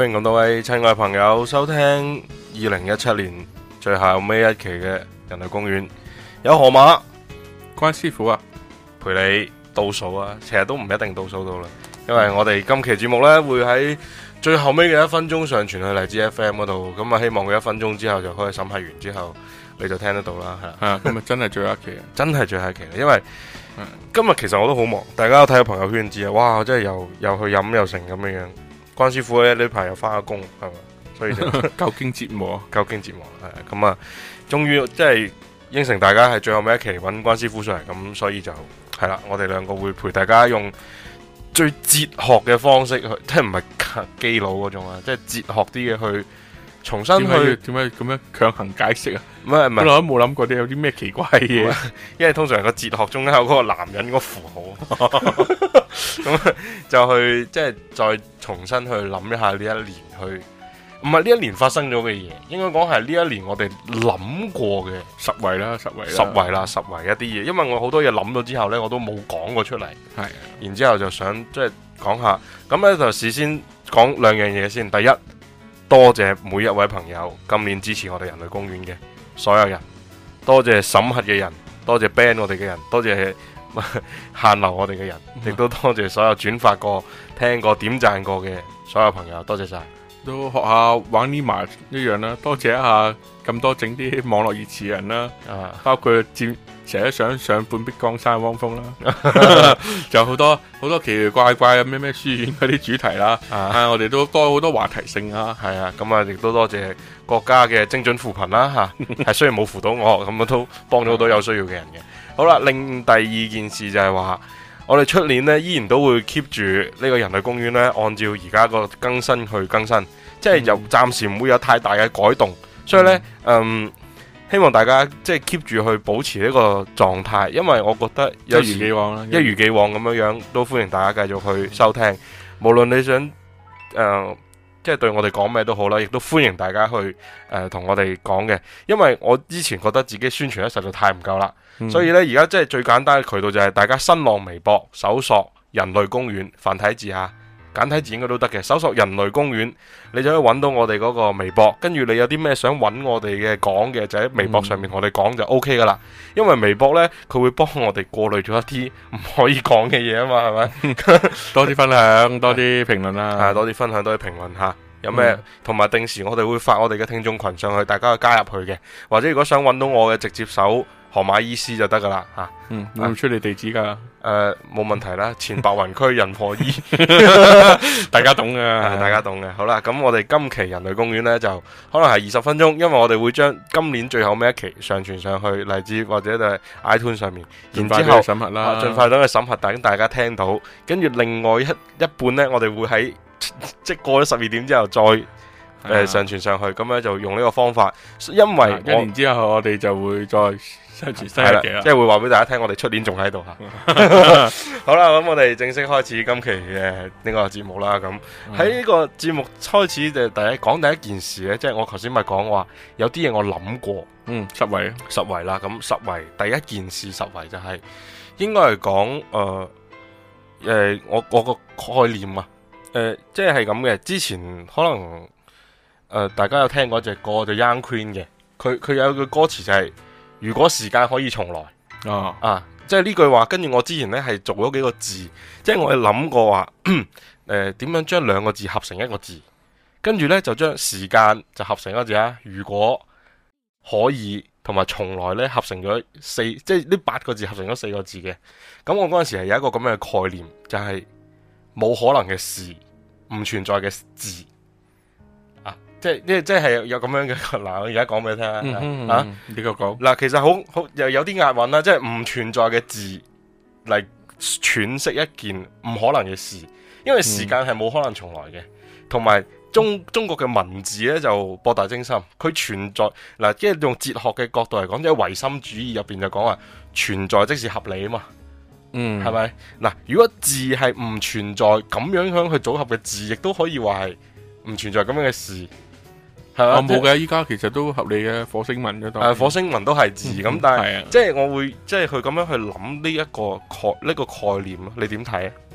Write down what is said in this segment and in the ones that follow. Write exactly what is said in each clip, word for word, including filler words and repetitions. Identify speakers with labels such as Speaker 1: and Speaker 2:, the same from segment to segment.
Speaker 1: 歡迎咁多位親愛朋友收聽二零一七年最後尾一期嘅人類公園，有河馬
Speaker 2: 關師傅啊，
Speaker 1: 陪你倒數啊，其實都唔一定倒數到啦，因為我哋今期節目呢會喺最後尾嘅一分鐘上傳去荔枝 F M 嗰度，咁啊希望佢一分鐘之後就可以審核完之後你就聽得到啦，係啦。
Speaker 2: 係啊，今日真係最後一期啊，
Speaker 1: 真係最後一期，因為今日其實我都好忙，大家有睇下朋友圈知啊，哇，我真係又又去飲又成咁樣樣。關師傅咧呢排又翻下工，係嘛，所以就
Speaker 2: 夠經折磨，
Speaker 1: 夠經折磨係咁啊！終於即係應承大家係最後尾一期揾關師傅上嚟，咁所以就係啦，我哋兩個會陪大家用最哲學嘅方式去，即係唔係基佬嗰種啊，即係哲學啲嘅去重新去
Speaker 2: 點解咁樣強行解釋啊？
Speaker 1: 唔係唔係，
Speaker 2: 我都冇諗過啲有啲咩奇怪嘅嘢，
Speaker 1: 因為通常個哲學中間有嗰個男人個符號，咁就去即係再重新去諗一下呢一年去，唔係呢一年發生咗嘅嘢，應該講係呢一年我哋諗過嘅
Speaker 2: 十圍啦，十圍啦，
Speaker 1: 十圍啦，十圍一啲嘢，因為我好多嘢諗咗之後呢，我都冇講過出嚟，
Speaker 2: 係，
Speaker 1: 然之後就想即係講下，咁呢就事先講兩樣嘢先，第一，多謝每一位朋友今年支持我哋人類公園嘅所有人，多謝審核嘅人，多謝 ban 我哋嘅人，多謝限流我哋嘅人，亦都多謝所有轉發過、聽過、點讚過嘅所有朋友，多謝晒。
Speaker 2: 都學下玩呢麻一樣啦，多謝一下咁多整啲網絡熱詞人啦，
Speaker 1: 啊，
Speaker 2: 包括佔成日想上半壁江山汪峰啦，仲有好多好多奇奇怪怪嘅咩咩書院嗰啲主題啦，啊，啊我哋都多好多話題性啊，
Speaker 1: 係啊，咁啊亦都多謝國家嘅精準扶貧啦吓，係雖然冇扶到我，咁都幫咗好多有需要嘅人嘅。好啦，另第二件事就係話，我哋出年呢依然都會 keep 住呢個人類公園呢，按照而家個更新去更新，即係又暫時唔會有太大嘅改動，所以呢，嗯。希望大家即係 keep 住去保持呢個狀態，因為我覺得有
Speaker 2: 一如既往啦，
Speaker 1: 一如既往咁樣樣，都歡迎大家繼續去收聽。無論你想誒、呃，即係對我哋講咩都好啦，亦都歡迎大家去誒同、呃、我哋講嘅。因為我之前覺得自己宣傳得實在太唔夠啦，嗯、所以呢，而家即係最簡單嘅渠道就係大家新浪微博搜索人類公園繁體字吓。簡體字應該都得嘅，搜索人類公園，你就可以揾到我哋嗰個微博，跟住你有啲咩想揾我哋嘅講嘅，就喺微博上面同我哋講就 O K 噶啦。因為微博呢，佢會幫我哋過濾咗一啲唔可以講嘅嘢啊嘛，係咪？
Speaker 2: 多啲分享，多啲評論啦，
Speaker 1: 多啲分享，多啲評論吓。有咩？同埋、嗯、定時我哋會發我哋嘅聽眾群上去，大家去加入去嘅。或者如果想揾到我嘅，直接搜河馬醫師就得噶啦吓。
Speaker 2: 嗯，會唔出你地址噶？誒、
Speaker 1: 呃，冇問題啦。前白雲區仁和醫，
Speaker 2: 大家懂嘅，
Speaker 1: 大家懂嘅。好啦，咁我哋今期人類公園呢，就可能係二十分鐘，因為我哋會將今年最後尾一期上傳上去荔枝或者就係 iTunes 上面，然之後
Speaker 2: 審核啦，
Speaker 1: 盡快等佢審核，等大家聽到。跟住另外一一半呢，我哋會喺即過咗十二點之後再誒、呃、上傳上去，咁樣就用呢個方法。因為
Speaker 2: 一年之後我哋就會再上傳新一期啦，
Speaker 1: 即係會話俾大家聽，我哋出年仲喺度吓。好啦，咁我哋正式開始今期嘅呢個節目啦。咁喺呢個節目開始就第一講第一件事咧，即係我頭先咪講話有啲嘢我諗過，
Speaker 2: 嗯，十圍
Speaker 1: 十圍啦。咁十圍第一件事，十圍就係應該係講誒誒，我我個概念啊。誒、呃，即係咁嘅。之前可能誒、呃，大家有聽過一隻歌就 Young Queen 嘅，佢佢有句歌詞就係、是、如果時間可以重來、哦、啊，即係呢句話。跟住我之前呢係做咗幾個字，即係我係諗過話誒，點樣將兩個字合成一個字，跟住呢就將時間就合成一個字啊。如果可以同埋從來呢合成咗四，即係呢八個字合成咗四個字嘅。咁我嗰陣時係有一個咁樣嘅概念，就係、是、冇可能嘅事。唔存在嘅字啊，即係即係即係有咁樣嘅嗱，我而家講俾你聽啊，嗯嗯啊，
Speaker 2: 呢個講
Speaker 1: 嗱，其實好好又有啲押韻啦，即係唔存在嘅字嚟詮釋一件唔可能嘅事，因為時間係冇可能重來嘅，同埋、嗯、中中國嘅文字咧就博大精深，佢存在嗱，即係用哲學嘅角度嚟講，即係唯心主義入邊就講話存在即是合理啊嘛。嗯，係咪嗱？如果字係唔存在咁樣樣去組合嘅字，亦都可以話係唔存在咁樣嘅事，係嘛？
Speaker 2: 冇嘅，依家其實都合理嘅，火星文嗰度。
Speaker 1: 誒，火星文都係字咁，嗯、但係、啊、即係我會即係佢咁樣去諗呢一個概呢、呢個概念咯。你點睇啊？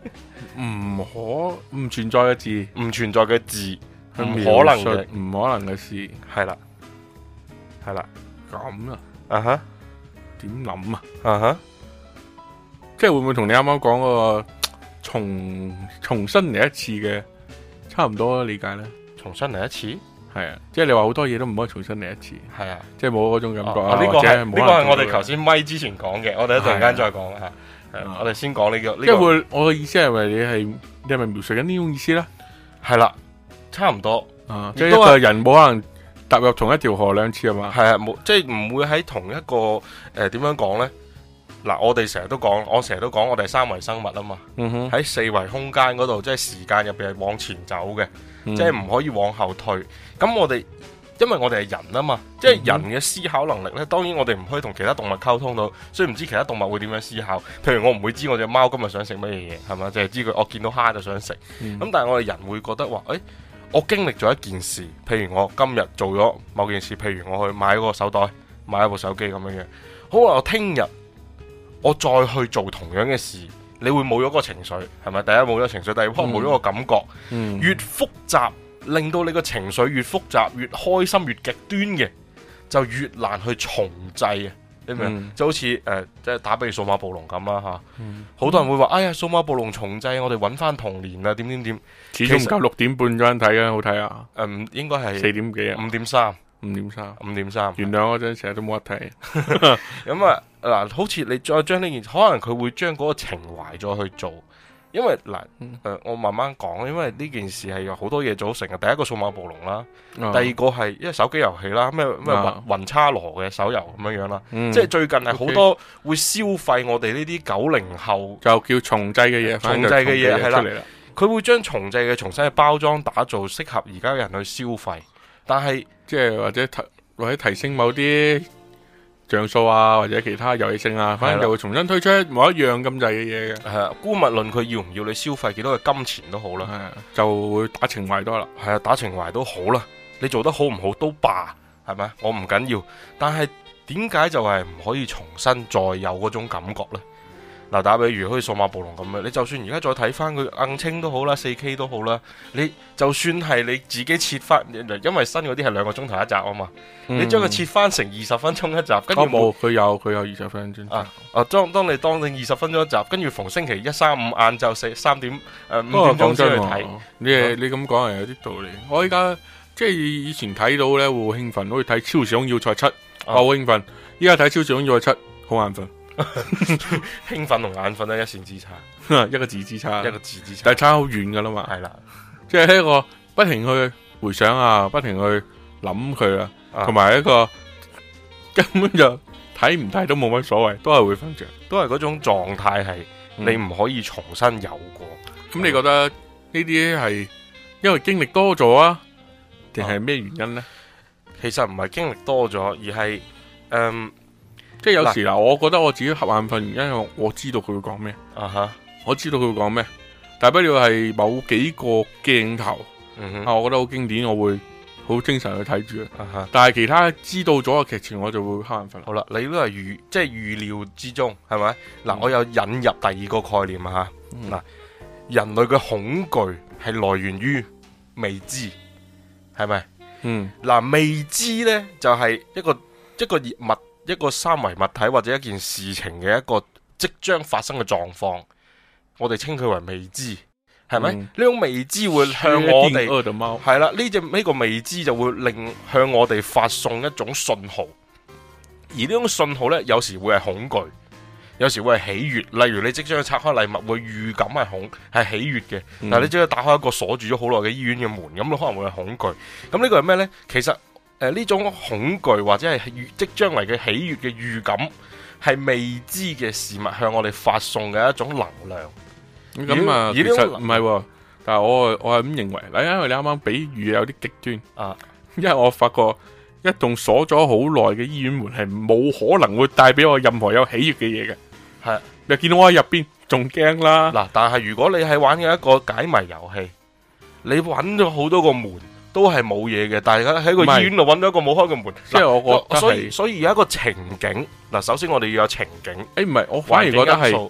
Speaker 2: 唔可唔存在嘅字，
Speaker 1: 唔存在嘅字，唔
Speaker 2: 唔
Speaker 1: 可能嘅，
Speaker 2: 唔可能嘅事，
Speaker 1: 係啦，係啦，
Speaker 2: 咁啊，
Speaker 1: 啊哈，
Speaker 2: 點諗啊？
Speaker 1: 啊哈，
Speaker 2: 即係會唔會同你啱啱講嗰個重重新嚟一次嘅差唔多理解咧？
Speaker 1: 重新嚟一次，
Speaker 2: 係啊，即係你話好多嘢都唔可以重新嚟一次，
Speaker 1: 係啊，
Speaker 2: 即係冇嗰種感覺啊。
Speaker 1: 呢個係呢個係我哋頭
Speaker 2: 先，
Speaker 1: 先咪之前講嘅，我哋一陣間再講吓。係我哋先講呢個，呢個
Speaker 2: 即係會我嘅意思係咪你係你係咪描述緊呢種意思咧？
Speaker 1: 係啦，差唔多
Speaker 2: 啊，即係一個人冇可能踏入同一條河兩次係嘛？
Speaker 1: 係啊，冇即係唔會喺同一個誒點樣講咧？嗱，我哋成日都講，我成日都講，我哋係三維生物啊嘛。
Speaker 2: 嗯哼，
Speaker 1: 喺四維空間嗰度，即係時間入邊係往前走嘅，
Speaker 2: 嗯
Speaker 1: 即係唔可以往後退。咁我哋因為我哋係人啊嘛，即係人嘅思考能力咧，當然我哋唔可以同其他動物溝通到，所以唔知其他動物會點樣思考。譬如我唔會知我隻貓今日想食乜嘢嘢，係咪？就係知佢我見到蝦就想食。咁、
Speaker 2: 嗯、
Speaker 1: 但係我哋人會覺得話，誒、欸，我經歷咗一件事，譬如我今日做咗某件事，譬如我去買個手袋，買一部手機咁樣樣。好啦，我聽日我再去做同樣嘅事，你會冇咗個情緒，係咪？第一冇咗情緒，第二可能冇咗個感覺，
Speaker 2: 嗯、
Speaker 1: 越複雜。令到你個情緒越複雜、越開心、越極端嘅，就越難去重製啊！你明唔明？嗯、就好似誒，即、呃、係打比如數碼暴龍咁啦嚇，好、嗯、多人會話：哎呀，數碼暴龍重製，我哋揾翻童年啊！點點點，
Speaker 2: 始終唔夠六點半嗰陣睇嘅好睇啊！
Speaker 1: 誒、呃，應該係
Speaker 2: 四點幾啊，
Speaker 1: 五點三，
Speaker 2: 五點三，
Speaker 1: 五點三。
Speaker 2: 原諒嗰陣成日都冇得睇。
Speaker 1: 咁啊嗱，好似你再將呢件，可能佢會將嗰個情懷再去做。因為嗱，誒、呃，我慢慢講，因為呢件事係有好多嘢組成嘅。第一個數碼暴龍啦，哦、第二個係因為手機遊戲啦，咩咩雲雲叉羅嘅手遊咁樣樣啦，嗯、即係最近係好多會消費我哋呢啲九零後
Speaker 2: 就叫重製嘅嘢，
Speaker 1: 重製嘅嘢係啦，佢會將重製嘅重新嘅包裝打造，適合而家嘅人去消費，但係
Speaker 2: 即係或者提或者提升某啲像素啊，或者其他遊戲性啊，反正就會重新推出某一樣咁滯嘅嘢嘅。
Speaker 1: 係啊，姑勿論佢要唔要你消費幾多嘅金錢都好啦，
Speaker 2: 係啊，就會打情懷多啦。
Speaker 1: 係啊，打情懷都好啦，你做得好唔好都罷，係咪？我唔緊要，但係點解就係唔可以重新再有嗰種感覺呢？嗱，打比如好似數碼暴龍咁樣，你就算而家再睇翻佢硬清都好啦，四 K 都好啦，你就算係你自己切翻，因為新嗰啲係兩個鐘頭一集啊嘛，嗯、你將佢切翻成二十分鐘一集，跟住
Speaker 2: 冇佢有佢有二十分鐘
Speaker 1: 啊啊！當當你當你二十分鐘一集，跟住逢星期一、三、五晏晝四三點誒、呃、五點鐘先去睇，
Speaker 2: 你你咁講係有啲道理。我依家即係以前睇到咧會好興奮，好似睇《超時空要塞七》，我好興奮。依家睇《超時空要塞七》好眼瞓。
Speaker 1: 興奮同眼瞓咧一線之差，
Speaker 2: 一個字之差，
Speaker 1: 一個字之差，
Speaker 2: 但係差好遠噶啦嘛。
Speaker 1: 係啦，
Speaker 2: 即係一個不停去回想啊，不停去諗佢啊，同埋一個根本就睇唔睇都冇乜所謂，都係會瞓着，
Speaker 1: 都係嗰種狀態係你唔可以重新有過。
Speaker 2: 咁、嗯、你覺得呢啲係因為經歷多咗啊，定係咩原因呢？
Speaker 1: 其實唔係經歷多咗，而係誒。嗯
Speaker 2: 即係有時嗱，我覺得我自己瞌眼瞓原因，因為我知道佢會講咩，啊哈，我知道佢會講咩，大不了係某幾個鏡頭，嗯哼，啊，我覺得好經典，我會好精神去睇住，啊哈，但係其他知道咗嘅劇情，我就會瞌眼瞓。好啦，
Speaker 1: 你都係預即係預料之中，係咪？嗱、嗯，我有引入第二個概念啊吓，嗱、嗯，人類嘅恐懼係來源於未知，係咪？嗯，嗱，未知咧就係、是、一個一個熱物。一個三維物體或者一件事情嘅一個即將發生嘅狀況，我哋稱佢為未知，係咪？呢、嗯、種未知會向我哋係啦，呢隻呢個未知就會令向我哋發送一種信號，而呢種信號呢，有時會係恐懼，有時會係喜悅。例如你即將拆開禮物，會預感係恐係喜悅嘅，嗯、但係你即將打開一個鎖住咗好耐嘅醫院嘅門，咁你可能會係恐懼。咁呢個係咩呢？其實。誒，呢、呃、種恐懼或者係預即將嚟嘅喜悅嘅預感，係未知嘅事物向我哋發送嘅一種能量。
Speaker 2: 咁啊，其實唔係，但係我我係咁認為。嗱，因為你啱啱比喻有啲極端啊，因為我發覺一棟鎖咗好耐嘅醫院門係冇可能會帶俾我任何有喜悅嘅嘢嘅。係、啊，你見到我喺入邊仲驚啦。嗱，
Speaker 1: 但係如果你係玩嘅一個解謎遊戲，你揾咗好多個門。都係冇嘢嘅，大家喺個醫院度揾到一個冇開嘅門，
Speaker 2: 即係我覺得，
Speaker 1: 所以所以有一個情景嗱。首先我哋要有情景，
Speaker 2: 誒唔係，我反而覺得係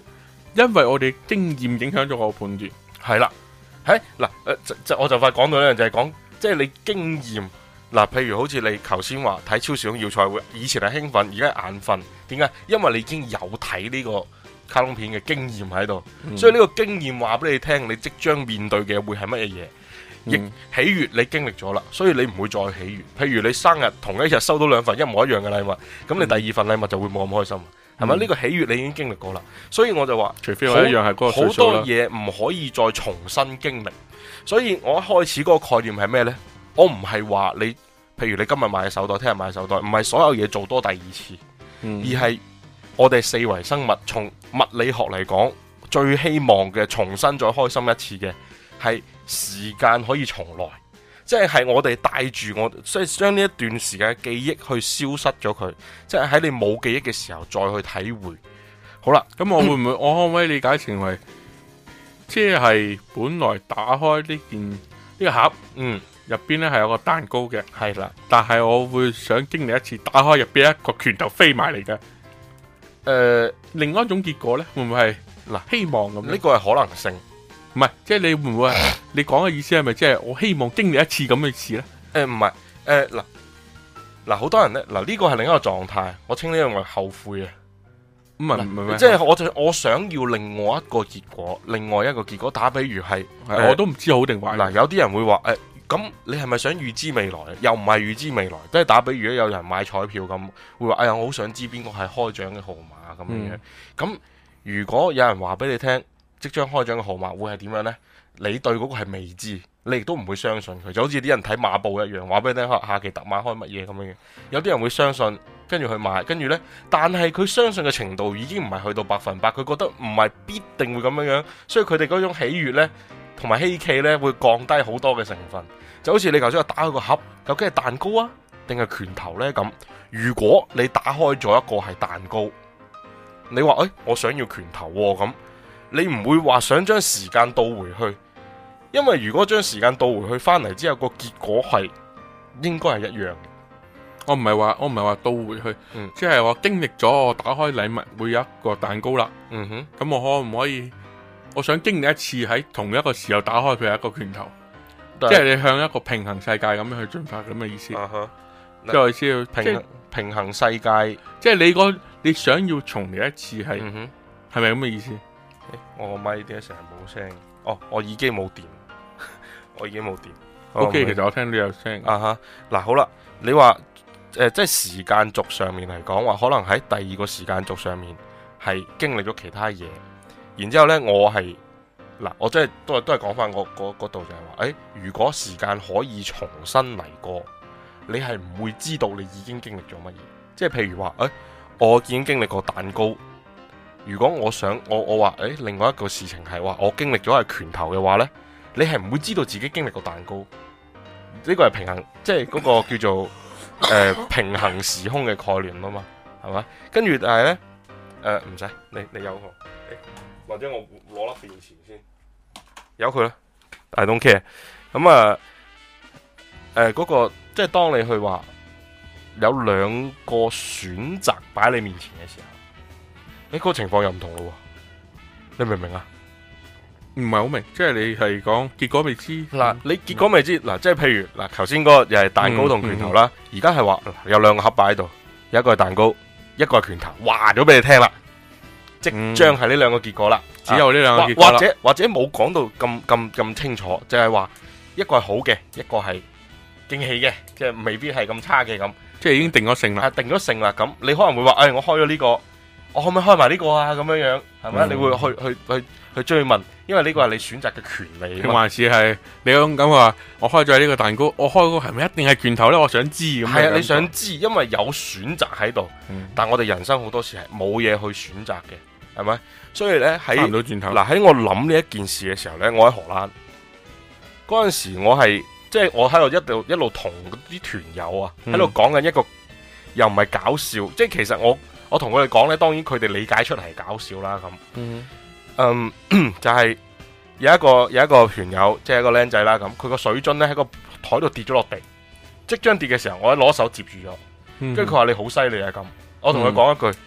Speaker 2: 因為我哋經驗影響咗我判斷。
Speaker 1: 係啦，喺嗱誒，就就我就快講到呢樣，就係講即係你經驗嗱，譬如好似你頭先話睇超時空要塞會，以前係興奮，而家眼瞓，點解？因為你已經有睇呢個卡通片嘅經驗喺度，嗯、所以呢個經驗話俾你聽，你即將面對嘅會係乜嘢嘢？亦、嗯、喜悅你經歷咗啦，所以你唔會再喜悅。譬如你生日同一日收到兩份一模一樣嘅禮物，咁你第二份禮物就會冇咁開心，係咪、嗯？呢、呢個喜悅你已經經歷過啦，所以我就話，
Speaker 2: 除非我一樣係嗰個歲數啦，
Speaker 1: 好多嘢唔可以再重新經歷。所以我一開始嗰個概念係咩呢？我唔係話你，譬如你今日買手袋，聽日買手袋，唔係所有嘢做多第二次，嗯、而係我哋四維生物從物理學嚟講，最希望嘅重新再開心一次嘅係時間可以重來，即係係我哋帶住我，即係將呢一段時間嘅記憶去消失咗佢，即係喺你冇記憶嘅時候再去體會。好啦，
Speaker 2: 咁我會唔會我可唔可以理解成為，即係本來打開呢件呢個盒，嗯，入邊咧係有個蛋糕嘅，
Speaker 1: 係啦，
Speaker 2: 但係我會想經歷一次打開入邊一個拳頭飛埋嚟嘅，誒、呃，另外一種結果咧會唔會係嗱希望咁？
Speaker 1: 呢個係可能性。
Speaker 2: 唔係，即係你會唔會係你講嘅意思係咪即係我希望經歷一次咁嘅事咧？
Speaker 1: 誒唔係，誒嗱嗱好多人咧，嗱呢個係另一個狀態，我稱呢樣為後悔啊。
Speaker 2: 唔係唔係，
Speaker 1: 即係我就我想要另外一個結果，另外一個結果打比如係，
Speaker 2: 我都唔知好定壞。
Speaker 1: 嗱有啲人會話誒，咁你係咪想預知未來？又唔係預知未來，即係打比如有人買彩票咁，會話哎呀我好想知邊個係開獎嘅號碼咁樣樣。咁如果有人話俾你聽，即將開獎嘅號碼會係點樣呢？你對嗰個係未知，你亦都唔會相信佢，就好似啲人睇馬報一樣，話俾你聽下期特碼開乜嘢咁樣嘅。有啲人會相信，跟住去買，跟住呢，但係佢相信嘅程度已經唔係去到百分百，佢覺得唔係必定會咁樣樣，所以佢哋嗰種喜悅呢，同埋希冀呢，會降低好多嘅成分。就好似你頭先話打開個盒，究竟係蛋糕啊，定係拳頭呢？咁如果你打開咗一個係蛋糕，你話誒、哎，我想要拳頭喎、啊、咁。你唔會話想將時間倒回去，因為如果將時間倒回去翻嚟之後，個結果係應該係一樣嘅。
Speaker 2: 我唔係話我唔係話倒回去，嗯、即係我經歷咗我打開禮物會有一個蛋糕啦。嗯哼，咁我可唔可以？我想經歷一次喺同一個時候打開佢係一個拳頭，對即係你向一個平衡世界咁樣去進發咁嘅意思。即係意思要
Speaker 1: 平衡平衡世界，
Speaker 2: 即係你個你想要重嚟一次係係咪咁嘅意思？
Speaker 1: 我個咪點解成日冇聲？哦，我耳機冇電，我耳機冇電。
Speaker 2: O K，其實我聽到有聲。
Speaker 1: 啊哈，嗱好啦，你話誒、呃，即係時間軸上面嚟講，話可能喺第二個時間軸上面係經歷咗其他嘢，然之後咧，我係嗱，我真係都係都係講翻我嗰嗰度就係話，誒、欸，如果時間可以重新嚟過，你係唔會知道你已經經歷咗乜嘢。即係譬如話，誒、欸，我已經經歷過蛋糕。如果我想我我話誒，另外一個事情係話我經歷咗係拳頭嘅話呢，你係唔會知道自己經歷過蛋糕。呢個係平衡，即係嗰個叫做誒、呃、平衡時空嘅概念啊嘛，係咪？跟住但係呢，誒唔使你你有我、欸，或者我攞粒電池先，由佢啦。I don't care。咁啊誒嗰個即係當你去話有兩個選擇擺喺你面前嘅時候。你嗰個情況又唔同咯，你明唔明啊？
Speaker 2: 唔係好明，即係你係講結果未知。
Speaker 1: 嗱，你結果未知，嗱，即係譬如嗱，頭先嗰個又係蛋糕同拳頭啦，而家係話有兩個盒擺喺度，有一個係蛋糕，一個係拳頭，話咗俾你聽啦，即將係呢兩個結果啦，
Speaker 2: 只有呢兩個結果啦，
Speaker 1: 或者或者冇講到咁咁咁清楚，就係話一個係好嘅，一個係驚喜嘅，即係未必係咁差嘅咁，
Speaker 2: 即係已經定咗性啦，
Speaker 1: 定咗性啦，咁你可能會話，誒，我開咗呢個。我可唔可以開埋呢個啊？咁樣樣係咪？嗯、你會去去去去追問，因為呢個係你選擇嘅權利。定還是係你咁咁話？我開咗呢個蛋糕，我開嗰個係咪一定係拳頭咧？我想知咁。係啊，你想知，因為有選擇喺度。嗯、但我哋人生好多時係冇嘢去選擇嘅，係咪？所以咧喺嗱喺我諗呢一件事嘅時候咧，我喺荷蘭嗰陣時我，我係即係我喺度一路一路同啲團友啊喺度講緊一個又唔係搞笑，即係其實我。我同佢哋講咧，當然佢哋理解出嚟係搞笑啦咁。嗯，嗯，就係、是、有一個有一個團友，即係一個僆仔啦咁，佢個水樽咧喺個台度跌咗落地，即將跌嘅時候，我一攞手接住咗，跟住佢話你好犀利啊咁。我同佢講一句，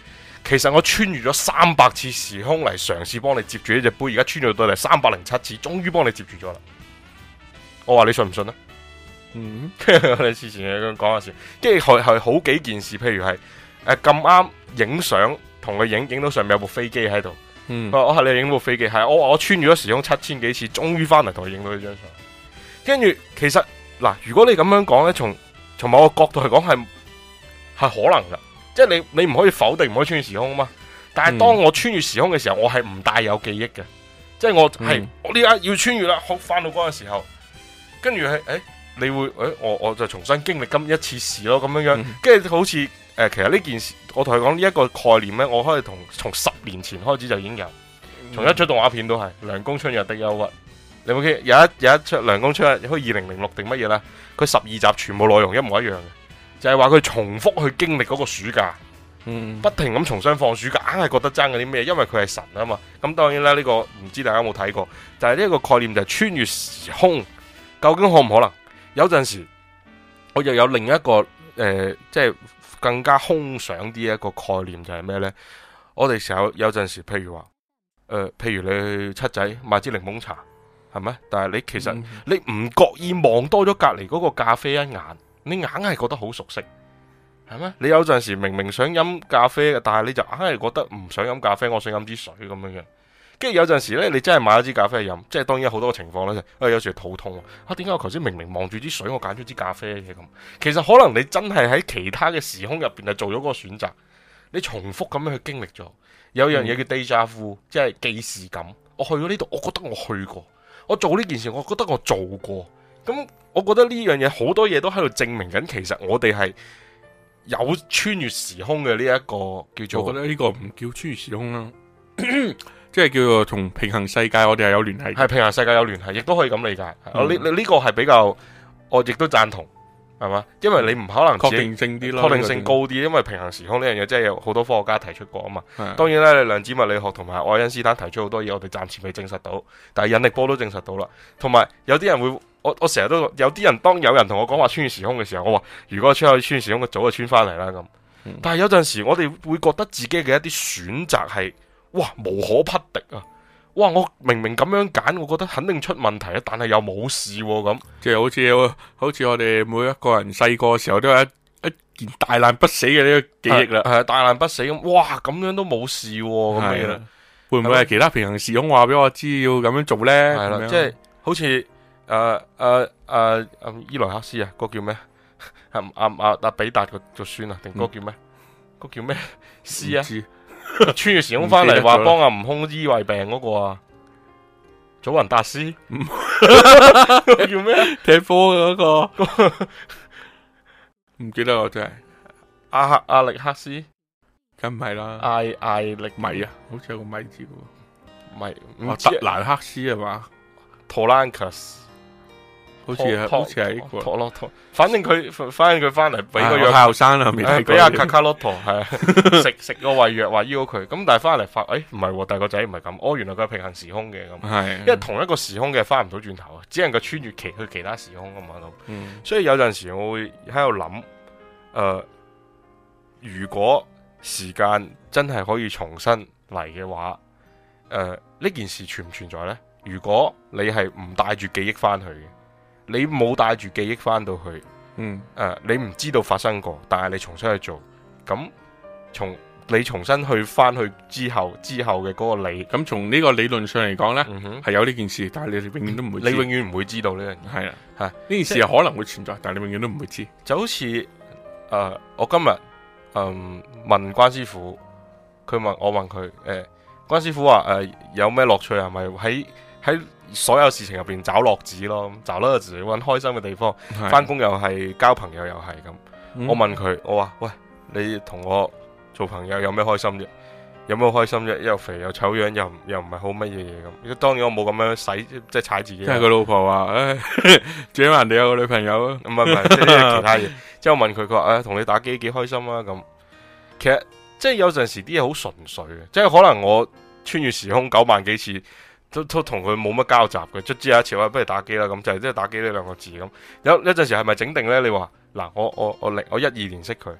Speaker 1: 其實我穿越咗三百次時空嚟嘗試幫你接住呢隻杯，而家穿越到嚟三百零七次，終於幫你接住咗啦。我話你信唔信啊？
Speaker 2: 嗯，
Speaker 1: 我哋之前咁講下先，跟住係係好幾件事，譬如係誒咁啱影相，同佢影影到上面有部飛機喺度。
Speaker 2: 嗯，
Speaker 1: 我係你影部飛機，係我我穿越咗時空七千幾次，終於翻嚟同佢影到呢張相。跟住其實嗱，如果你咁樣講咧，從從某個角度嚟講係係可能噶，即係你你唔可以否定唔可以穿越時空啊嘛。但係當我穿越時空嘅時候，我係唔帶有記憶嘅，即係我係、嗯、我呢家要穿越啦，好翻到嗰個時候，跟住係誒，你會誒我我就重新經歷咁一次事咯，咁樣樣，跟住、嗯、好似誒、呃，其實呢件事我同佢講呢一個概念咧，我可以同從十年前開始就已經有，從一出動畫片都係《涼宮春日的憂鬱》。你有冇記得？有一有一出《涼宮春日》，好似二零零六定乜嘢啦？佢十二集全部內容一模一樣嘅，就係話佢重複去經歷嗰個暑假，嗯，不停咁重新放暑假，硬係覺得爭嗰啲咩？因為佢係神啊嘛。咁當然啦，呢、這個唔知大家有冇睇過，就係呢一個概念就係穿越時空，究竟可唔可能？有陣時我又有另一個誒、呃，即係更加空想啲一個概念就係咩呢？我哋成日有陣時，譬如話誒、呃，譬如你去七仔買支檸檬茶。係咪？但係你其實、嗯、你唔覺意望多咗隔籬嗰個咖啡一眼，你硬係覺得好熟悉，係咩？你有陣時明明想飲咖啡嘅，但係你就硬係覺得唔想飲咖啡，我想飲支水咁樣樣。跟住有陣時咧，你真係買咗支咖啡飲，即係當然好多情況咧，誒有時肚痛啊，點解我頭先明明望住支水，我揀咗支咖啡嘅咁？其實可能你真係喺其他嘅時空入邊係做咗嗰個選擇，你重複咁樣去經歷咗。有樣嘢叫 déjà vu，即係既視感。我去咗呢度，我覺得我去過。我做呢件事，我覺得我做過，咁我覺得呢樣嘢好多嘢都喺度證明緊，其實我哋係有穿越時空嘅呢一個叫做，
Speaker 2: 我覺得呢個唔叫穿越時空啦，即係叫做同平行世界我哋係有聯繫，
Speaker 1: 係平行世界有聯繫，亦都可以咁理解。我呢呢個係比較，我亦都贊同。係嘛？因為你唔可能
Speaker 2: 確定性啲咯，
Speaker 1: 確定性高啲，因為平行時空呢樣嘢真係有好多科學家提出過啊嘛。當然啦，你量子物理學同埋愛因斯坦提出好多嘢，我哋暫時未證實到，但係引力波都證實到啦。同埋有啲人會，我我成日都有啲人，當有人同我講話穿越時空嘅時候，我話如果穿去穿越時空，我早就穿翻嚟啦咁。嗯、但係有陣時我哋會覺得自己嘅一啲選擇係，哇無可匹敵啊！哇！我明明咁樣揀，我覺得肯定出問題啊，但係又冇事咁、啊，
Speaker 2: 即係好似好似我哋每一個人細個嘅時候都有一一件大難不死嘅呢個記憶啦，
Speaker 1: 係大難不死咁，哇！咁樣都冇事咁、啊、樣，
Speaker 2: 會唔會係其他平行時空話俾我知要咁樣做咧？係啦，
Speaker 1: 即係好似誒誒誒伊萊克斯啊，嗰個叫咩？阿阿阿阿比達個個孫啊，定嗰個叫咩？嗰、嗯、叫咩？斯啊？穿越時空翻嚟話幫阿悟空醫胃病嗰個啊，祖雲達斯，叫咩？
Speaker 2: 踢波嘅嗰個，唔記得我真係
Speaker 1: 阿克阿力克斯，
Speaker 2: 梗唔係啦，
Speaker 1: 艾艾力
Speaker 2: 米啊，好似有個米字嘅，
Speaker 1: 米
Speaker 2: 唔知德蘭克斯係嘛？
Speaker 1: 托蘭克斯。
Speaker 2: 好似係，好似係呢個
Speaker 1: 托洛托，反正佢，反正佢翻嚟俾個藥
Speaker 2: 後生啦，未睇過。
Speaker 1: 俾阿卡卡洛托係食食個胃藥，話醫好佢。咁但係翻嚟發，誒唔係，但係個仔唔係咁。哦，原來佢係平行時空嘅咁。係，因為同一個時空嘅翻唔到轉頭啊，只能夠穿越其去其他時空啊嘛咁。嗯。所以有陣時我會喺度諗，誒、呃，如果時間真係可以重新嚟嘅話，誒、呃，呢件事存唔存在呢？如果你係唔帶住記憶翻去嘅。你冇帶住記憶翻到去，嗯，誒、呃，你唔知道發生過，但係你重新去做，咁從你重新去翻去之後之後嘅嗰個你，
Speaker 2: 咁從呢個理論上嚟講呢，係、嗯、哼有呢件事，但係你哋永遠都唔會知，
Speaker 1: 你永遠唔會知道呢樣嘢，係啊，係呢
Speaker 2: 件事係可能會存在，但係你永遠都唔會知。
Speaker 1: 就好似誒、呃，我今日嗯、呃、問關師傅，佢問我問佢，誒、呃，關師傅話誒、呃、有咩樂趣啊？咪喺喺所有事情入邊找樂子咯，找樂子揾開心嘅地方，翻工又係交朋友又係咁。嗯、我問佢，我話喂，你同我做朋友有咩開心啫？有咩開心啫？又肥又醜樣，又又唔係好乜嘢嘢咁。當然我冇咁樣使，即係踩自己。即係
Speaker 2: 佢老婆話，誒，最緊人哋有個女朋友啊。
Speaker 1: 唔係唔係，即係其他嘢。之後問佢，佢話誒，同你打機幾開心啊咁。其實即係有陣時啲嘢好純粹嘅，即係可能我穿越時空九萬幾次。都都同佢冇乜交集嘅，卒之有一次話不如打機啦，咁就係即係打機呢兩個字咁。有有陣時係咪整定咧？你話嗱，我我我零我一二年識佢，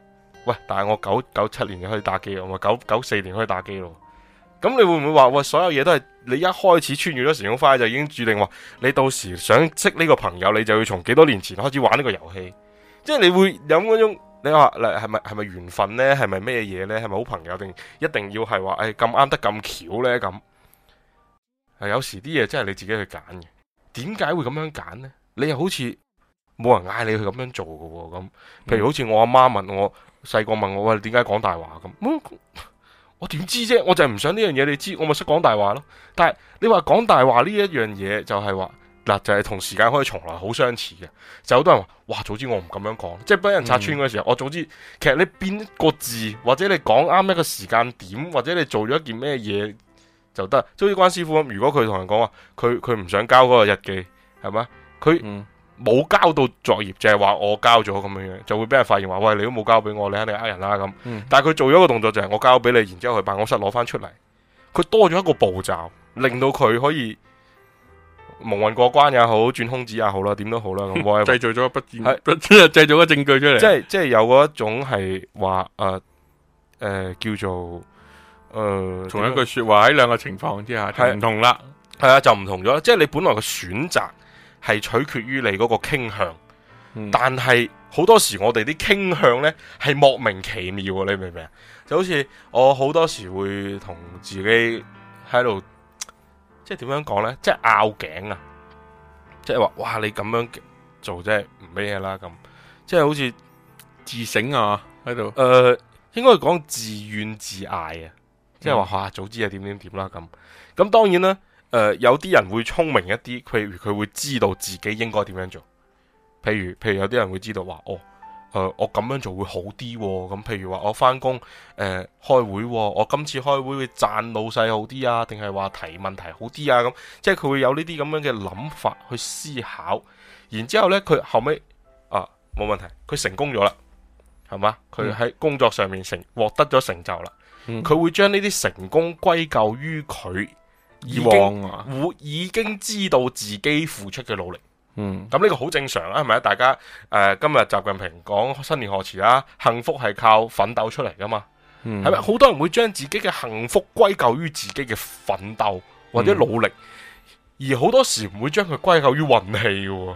Speaker 1: 喂，但係我九九七年就可以打機咯，我九九四年可以打機咯。咁你會唔會話喂，所有嘢都係你一開始穿越咗時空翻就已經注定話你到時想識呢個朋友，你就要從幾多年前開始玩呢個遊戲？即係你會有嗰種你話嗱係咪係咪緣分呢？係咪咩嘢呢？係咪好朋友定一定要係話誒咁啱得咁巧呢？咁係有時啲嘢真係你自己去揀嘅。點解會咁樣揀呢？你又好似冇人嗌你去咁樣做嘅喎。咁譬如好似我阿媽問我細個問我喂，點解講大話咁？我點知啫？我就係唔想呢樣嘢你知，我咪識講大話咯。但係你話講大話呢一樣嘢就係話嗱，就係、是、同時間可以從來好相似嘅。就好多人話哇，早知我唔咁樣講，即係俾人拆穿嗰時候，嗯、我早知其實你變一個字，或者你講啱一個時間點，或者你做咗一件咩嘢就得。即好似關師傅咁，如果佢同人講話，佢佢唔想交嗰個日記，係咪？佢。嗯冇交到作業，就係、是、話我交咗咁樣樣，就會俾人發現話喂，你都冇交俾我，你肯定呃人啦咁。嗯、但係佢做咗個動作就係我交俾你，然之後去辦公室攞翻出嚟，佢多咗一個步驟，令到佢可以蒙混過關也好，轉空子也好啦，點都好啦。咁我
Speaker 2: 製造咗不戰，係製造個證據出嚟。
Speaker 1: 即係即係有嗰一種係話誒誒叫做誒，
Speaker 2: 同、呃、一句說話喺兩個情況之下就唔同啦。
Speaker 1: 係啊，就唔同咗。即係你本來嘅選擇。係取決於你嗰個傾向，嗯、但係好多時我哋啲傾向呢係莫名其妙啊！你明唔明啊？就好似我好多時會同自己喺度，即係點樣講呢？即係拗頸啊！即係話哇，你咁樣做即係唔咩嘢啦咁，即係好似
Speaker 2: 自省啊喺度。誒、
Speaker 1: 呃，應該講自怨自艾啊！即係話哇，早知係點點點啦咁。咁當然啦。誒、呃，有啲人會聰明一啲，譬如佢會知道自己應該點樣做。譬如，譬如有啲人會知道話，哦，誒、呃，我咁樣做會好啲。咁，譬如話我翻工，誒、呃，開會，我今次開會會讚老細好啲啊，定係話提問題好啲啊？咁，即係佢會有呢啲咁樣嘅諗法去思考。然之後咧，佢後尾啊，冇問題，佢成功咗啦，係嘛？佢喺工作上面成獲得咗成就啦。佢、嗯、會將呢啲成功歸咎於佢。以往啊，會已經知道自己付出嘅努力，嗯，咁呢個好正常啊，係咪啊？大家誒、呃，今日習近平講新年賀詞啦，幸福係靠奮鬥出嚟噶嘛，係咪、嗯？好多人會將自己嘅幸福歸咎於自己嘅奮鬥或者努力，嗯、而好多時唔會將佢歸咎於運氣嘅，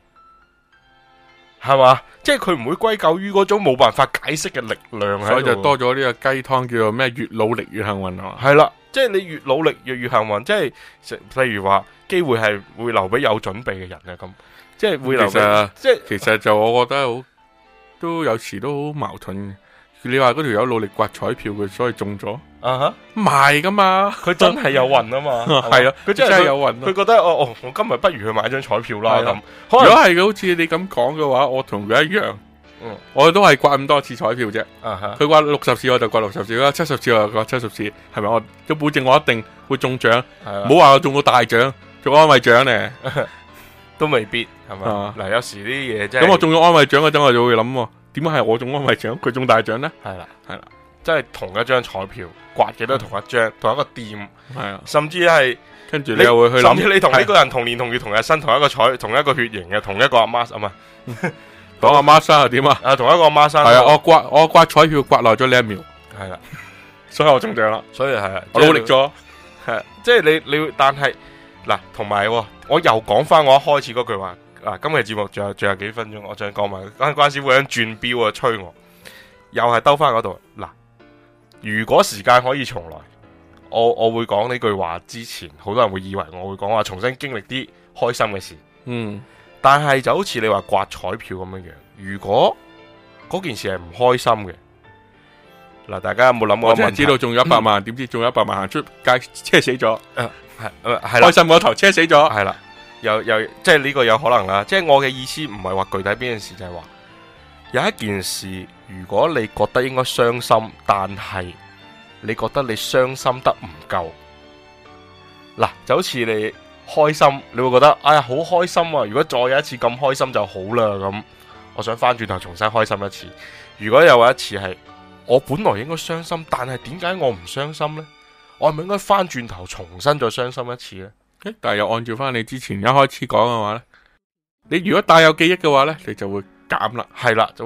Speaker 1: 係嘛？即係佢唔會歸咎於嗰種冇辦法解釋嘅力量，
Speaker 2: 所以就多咗呢個雞湯叫做咩？越努力越幸運啊！
Speaker 1: 係啦。即係你越努力越越幸運，即係例如話機會係會留俾有準備嘅人嘅咁，即係會留俾。其實即係其實就我覺得好都有時都好矛盾嘅。你話嗰條友努力刮彩票，佢所以中咗啊哈，唔係噶嘛，佢真係有運啊嘛，係啊，佢真係有運。佢覺得哦哦，我今日不如去買張彩票啦咁。如果係好似你咁講嘅話，我同佢一樣。嗯，我都係刮咁多次彩票啫。佢刮六十次我就刮六十次啦，七十次我就刮七十次，係咪？我都保證我一定會中獎。唔好話我中到大獎，中安慰獎咧，都未必係嘛。嗱，有時啲嘢真係咁，我中咗安慰獎嗰陣，我就會諗，點解係我中安慰獎，佢中大獎咧？係啦，係啦，即係同一張彩票刮嘅都係同一張，同一個店，係啊，甚至係跟住你又會去諗，甚至你同呢個人同年同月同日生，同一個彩，同一個血型嘅，同一個阿媽啊嘛。講阿媽生係點啊？啊，同一個阿媽生係啊！我刮我刮彩票刮耐咗呢一秒，係啦，所以我中獎啦。所以係我努力咗，係即係你你，但係嗱，同埋我又講翻我一開始嗰句話啊！今日節目仲有仲有幾分鐘，我想講埋關關師傅喺轉標啊，催我，又係兜翻嗰度嗱。如果時間可以重來，我我會講呢句話之前，好多人會以為我會講話重新經歷啲開心嘅事，嗯。但係就好似你話刮彩票咁樣樣，如果嗰件事係唔開心嘅，嗱，大家有冇諗過？我真係知道中咗一百萬，點、嗯、知中咗一百萬行出街車死咗，係係係開心嗰頭車死咗，係啦，又又即係呢個有可能啦。即係我嘅意思唔係話具體邊件事，就係話有一件事，如果你覺得應該傷心，但係你覺得你傷心得唔夠，嗱，就好似你。開心，你會覺得哎呀好開心啊！如果再有一次咁開心就好啦，咁我想翻轉頭重新開心一次。如果有一次係我本來應該傷心，但係點解我唔傷心呢？我係咪應該翻轉頭重新再傷心一次呢？但係又按照翻你之前一開始講嘅話呢，你如果帶有記憶嘅話呢，你就會減啦，係啦，就會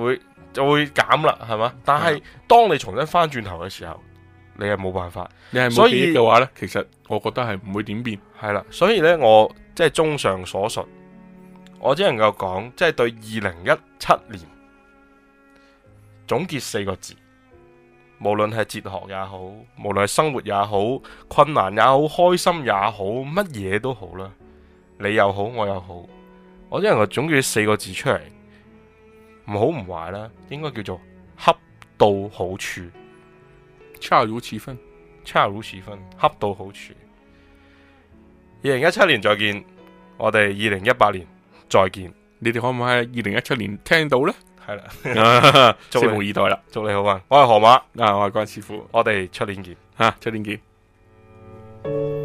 Speaker 1: 就會減啦，係嘛？但係當你重新翻轉頭嘅時候，你係冇辦法。
Speaker 2: 你係冇記憶嘅話呢，其實我覺得係唔會點變。
Speaker 1: 係啦，所以呢，我即係綜上所述，我只能夠講，即係對二零一七年總結四個字。無論係哲學也好，無論係生活也好，困難也好，開心也好，乜嘢都好啦，你又好，我又好，我只能夠總結四個字出嚟，唔好唔壞啦，應該叫做恰到好處，
Speaker 2: 恰如其分，
Speaker 1: 恰如其分，恰到好處。二零一七年再見，我哋二零一八年再見，
Speaker 2: 你哋可唔可以喺二零一七年聽到呢？
Speaker 1: 係啦，
Speaker 2: 拭目以待啦！
Speaker 1: 祝你好運，我係河馬，
Speaker 2: 啊，我係關師傅，
Speaker 1: 我哋出年見，
Speaker 2: 吓，出年見。